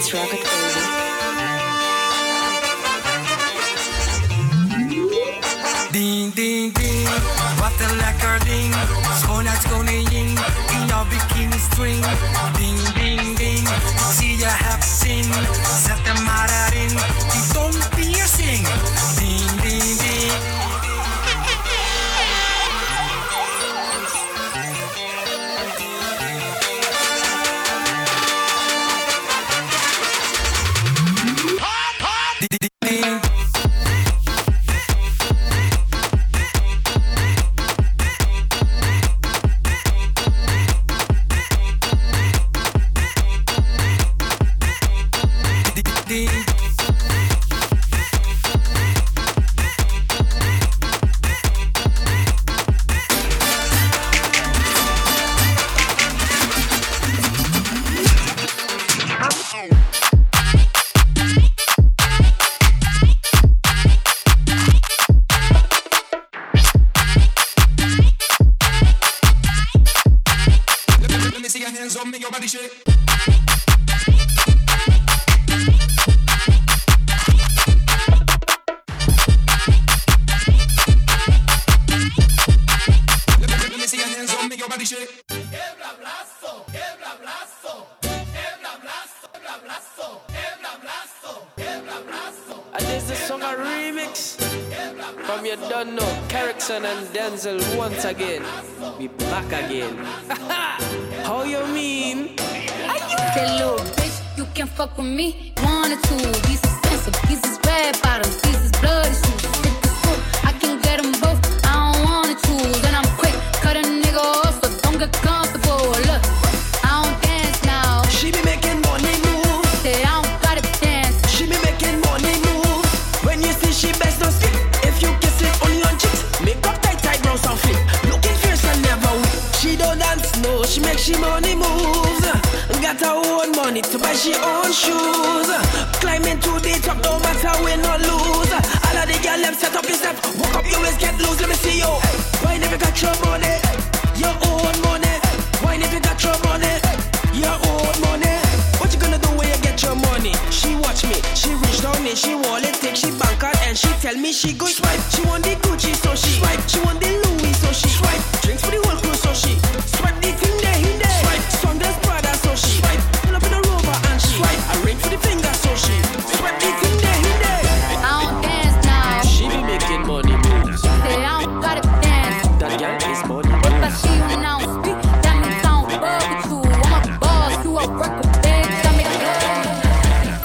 Speaker 6: Let's rock it crazy.
Speaker 5: Ding, ding, ding, wat een lekker ding. Schoonheidskoningin in jouw bikini string. Ding, ding, ding, zie je hebt zin. Zet hem maar erin, die tongpiercing. Ding, ding, ding.
Speaker 10: And Denzel once again. We back again. How you mean?
Speaker 17: That little bitch, you can fuck with me. One or two, these expensive, these is red bottoms, these is bloody shoes. Hit the school, I can get them both. I don't wanna choose, and I'm quick, cut a nigga off, so don't get comfortable. Look, I don't dance now.
Speaker 5: She be making money move.
Speaker 17: Say I don't gotta dance.
Speaker 5: She be making money move. When you see she best don't skip. If you kiss it only on chicks. Make up tight, tight, brows and flip. Looking fierce and never weak. She don't dance, no, she make she money moves. Got her own money to buy she own shoes. Climbing to the top, no matter win or lose. All of the girls, them set up yourself. Walk up, you always get loose, let me see you. Why never got your money? Your own money. Why never got your money? Your own money. What you gonna do when you get your money? She watch me, she reach down me, she wallet take, she bank card and she tell me she go swipe. She want the Gucci, so she swipe. She want the Louis, so she swipe. Drinks for the whole crew, so she swipe the thing there, in there. Swipe. Sundance Prada, so she swipe. Pull up in a Rover and she swipe. I ring for the finger, so she swipe the thing there, in there.
Speaker 17: I don't dance now.
Speaker 10: She be making money moves.
Speaker 17: Say I don't gotta dance.
Speaker 10: That girl is money
Speaker 17: If I
Speaker 10: moves.
Speaker 17: see you and I don't speak, that means I don't fuck with you. I'm a boss, you a worker, bitch. I make love.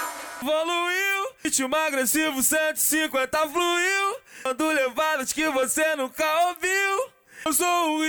Speaker 11: Evoluiu, ritmo agressivo cento e cinquenta fluiu. Mando levadas que você nunca ouviu. Eu sou o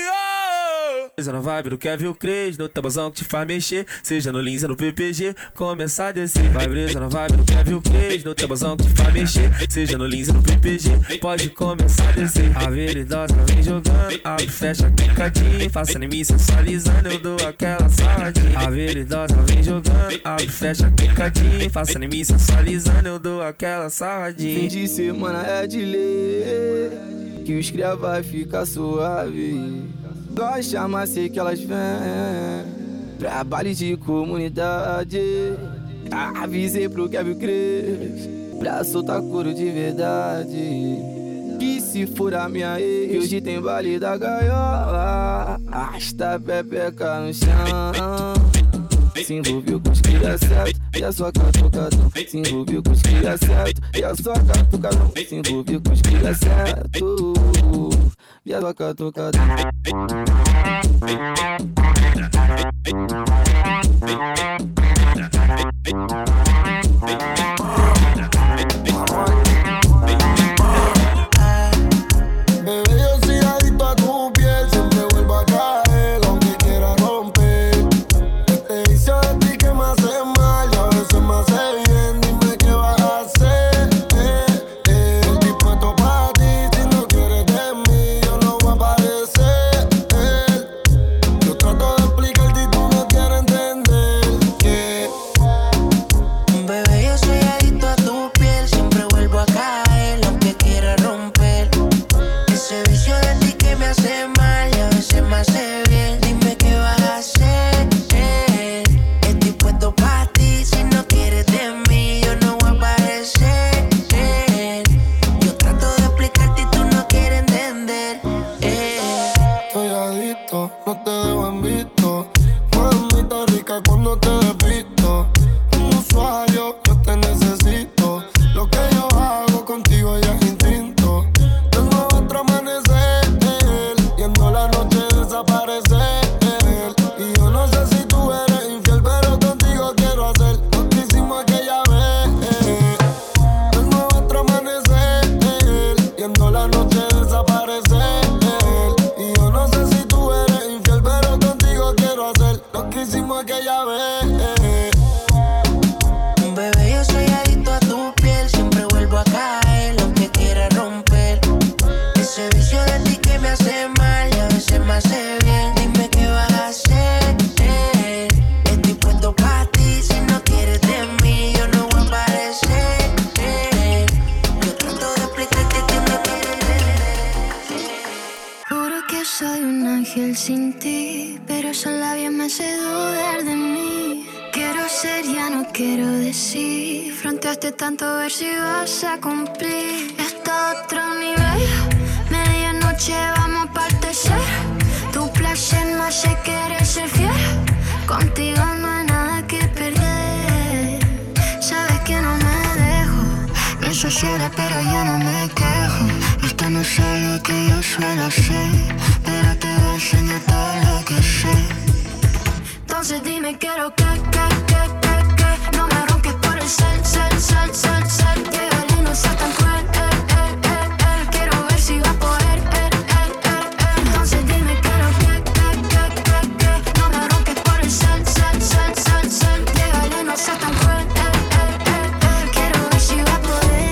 Speaker 11: Rio. Seja na vibe do Kevin Cres, no tabuzão que te faz mexer. Seja no Lins, no P P G, começar a descer. Vai brisa na vibe do Kevin Cres, no tabuzão que te faz mexer. Seja no Lins, no P P G, pode começar a descer. A veridosa vem jogando, abre, fecha, picadinho. Faça em mim sensualizando, eu dou aquela saladinha. A veridosa vem jogando, abre, fecha, picadinho. Faça em mim sensualizando, eu dou aquela saladinha.
Speaker 24: Fim de semana é de lei, que os cria vai ficar suave. Gosta, chama, sei que elas vêm. Trabalho de comunidade. Avisei pro Kevin Cres pra soltar couro de verdade. Que se for a minha ex, hoje tem baile da gaiola. Arrasta a pepeca no chão. Se envolveu com os cria certo e a sua catucadão. Se envolveu com os cria certo e a sua catucadão. Se envolveu com os cria certo e a sua catucadão.
Speaker 7: Bebé, yo soy adicto a tu piel, siempre vuelvo a caer, aunque quiera romper. Te hice de ti que me hace mal y a veces me hace bien, dime qué vas a hacer. Eh, eh, dispuesto para ti, si no quieres de mí, yo no voy a aparecer. Eh, yo trato de explicarte y tú no quieres entender que
Speaker 13: Bebé, yo soy
Speaker 12: que soy un ángel sin ti, pero esos labios me hace dudar de mí. Quiero ser, ya no quiero decir. Fronteaste tanto a ver si vas a cumplir. Esto otro nivel. Medianoche vamos a partecer. Tu placer me hace querer ser fiel. Contigo no hay nada que perder. Sabes que no me dejo. No soy sola pero yo no me quejo. Esto no es algo que yo suelo hacer, pero te voy a enseñar todo lo que sé. Entonces dime quiero que, que, que, que, que no me ronques por el cel, cel, cel, cel, cel. Llegale y no seas tan cruel, eh, eh, eh, eh. Quiero ver si vas a poder, eh, eh, eh, eh. Entonces dime quiero que, que, que, que, que no me ronques por el cel, cel, cel, cel, cel. Llegale y no seas tan cruel, eh, eh, eh, eh. Quiero ver si vas a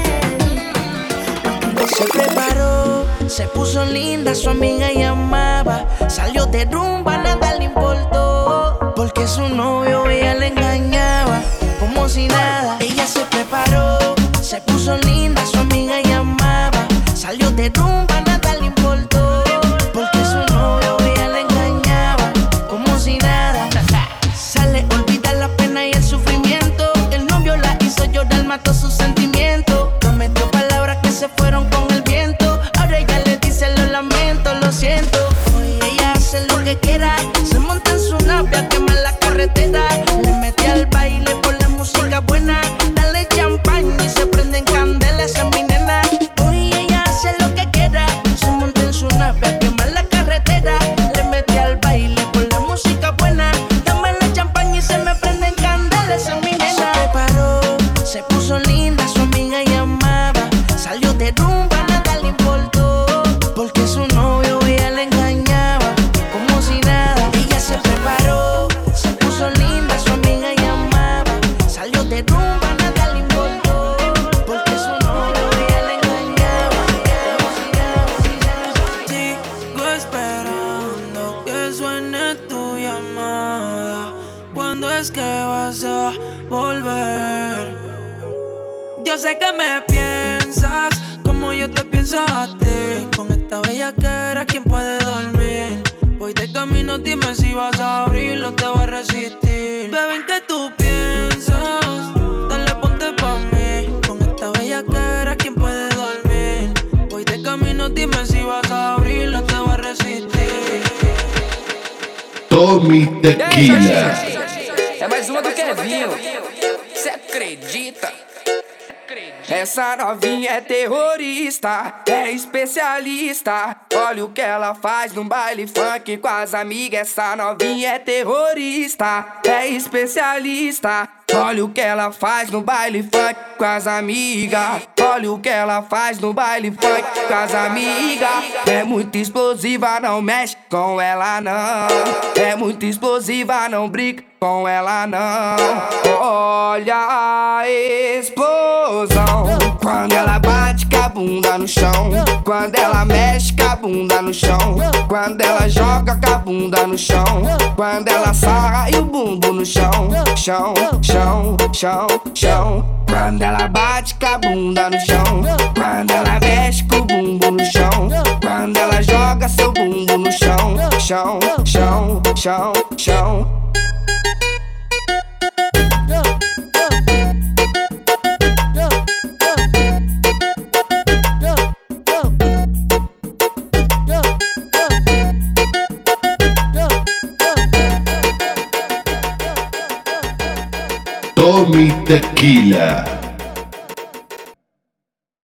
Speaker 12: poder.
Speaker 13: Se preparó, se puso linda, su amiga llamaba. Salió de rumba, nada le importó, porque su novio ella le engañaba, como si nada. Ella se preparó, se puso linda, su amiga llamaba. Salió de rumba, nada le importó, porque su novio ella le engañaba, como si nada. Sale, olvida la pena y el sufrimiento. El novio la hizo llorar, mató sus sentimientos. Prometió palabras que se fueron con el viento. Ahora ella le dice lo lamento, lo siento. Hoy ella hace lo que quiera. Se monta en su nave a quemar la carretera. Le mete al baile por la música buena. Dale champaña y se prenden candelas, esa es mi nena. Hoy ella hace lo que quiera. Se monta en su nave a quemar la carretera. Le mete al baile por la música buena. Dame la champaña y se me prenden candelas, esa es mi nena. Se preparó, se puso linda, su amiga llamaba. Salió de rumba, nada le importó, porque su novio ella le engañaba, como si nada. Ella se preparó, se puso linda, su amiga llamaba. Salió de rumba, nada le importó, porque su novio ella le engañaba, como si nada.
Speaker 5: Sigo esperando que suene tu llamada. ¿Cuándo es que vas a volver? Yo sé que me piensas como yo te pienso a ti. Con esta bellaquera, ¿quién puede dormir? Voy de camino, dime si vas a abrirlo, te voy a resistir. Bebé, ¿en qué tú piensas? Dale, ponte pa' mí. Con esta bellaquera, ¿quién puede dormir? Voy de camino, dime si vas a abrirlo, te voy a resistir.
Speaker 1: Tommy Tequila.
Speaker 6: É mais uma do Kevinho. Cê acredita? Essa novinha é terrorista, é especialista. Olha o que ela faz no baile funk com as amigas. Essa novinha é terrorista, é especialista. Olha o que ela faz no baile funk com as amigas. Olha o que ela faz no baile funk com as amigas. É muito explosiva, não mexe com ela não. É muito explosiva, não brinca com ela não. Olha a explosão quando ela bate com a bunda no chão. Quando ela mexe com a bunda no chão. Quando ela joga com a bunda no chão. Quando ela sarra e o bumbum no chão. Chão, chão, chão, chão. Quando ela bate com a bunda no chão. Quando ela mexe com o bumbum no chão. Quando ela joga seu bumbum no chão. Chão, chão, chão, chão.
Speaker 1: Tommy Tequila.